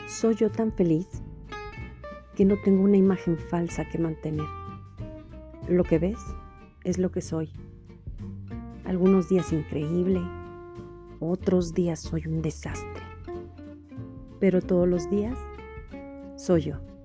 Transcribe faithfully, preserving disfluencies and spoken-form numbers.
Soy yo tan feliz que no tengo una imagen falsa que mantener. Lo que ves es lo que soy. Algunos días increíble, otros días soy un desastre. Pero todos los días soy yo.